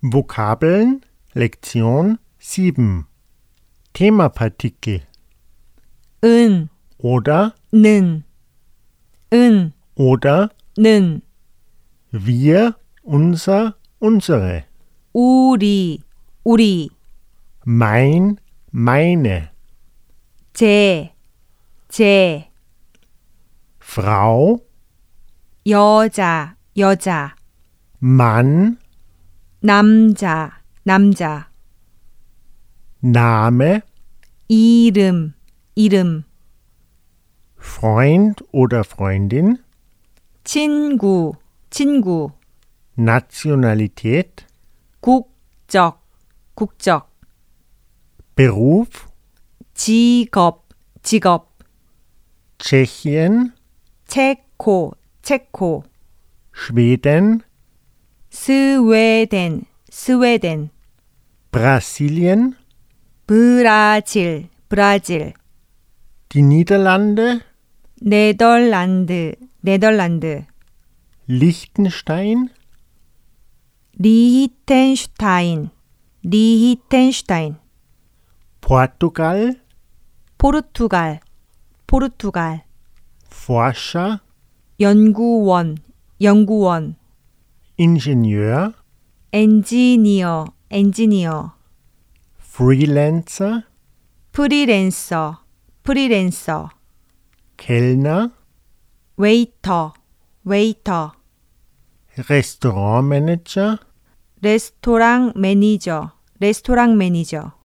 Vokabeln Lektion 7 Themapartikel 은, oder 는, 은, oder 는, wir, unser, unsere, 우리, 우리, mein, meine, 제, Frau, 여자, 여자, Mann, 남자, 남자, Name, 이름, 이름, Freund oder Freundin, 친구, 친구, Nationalität, 국적, 국적, Beruf, 직업, 직업, Tschechien, 체코, 체코, Schweden, 스웨덴, 스웨덴, Brasilien, 브라질, 브라질, die Niederlande, 네덜란드, 네덜란드, Liechtenstein, 리히텐슈타인, 리히텐슈타인, Portugal, 포르투갈, 포르투갈, Forscher, 연구원, 연구원, Ingenieur, 엔지니어, 엔지니어, Freelancer, 프리랜서, 프리랜서, Kellner, 웨이터, 웨이터, Restaurantmanager, 레스토랑 매니저, 레스토랑 매니저,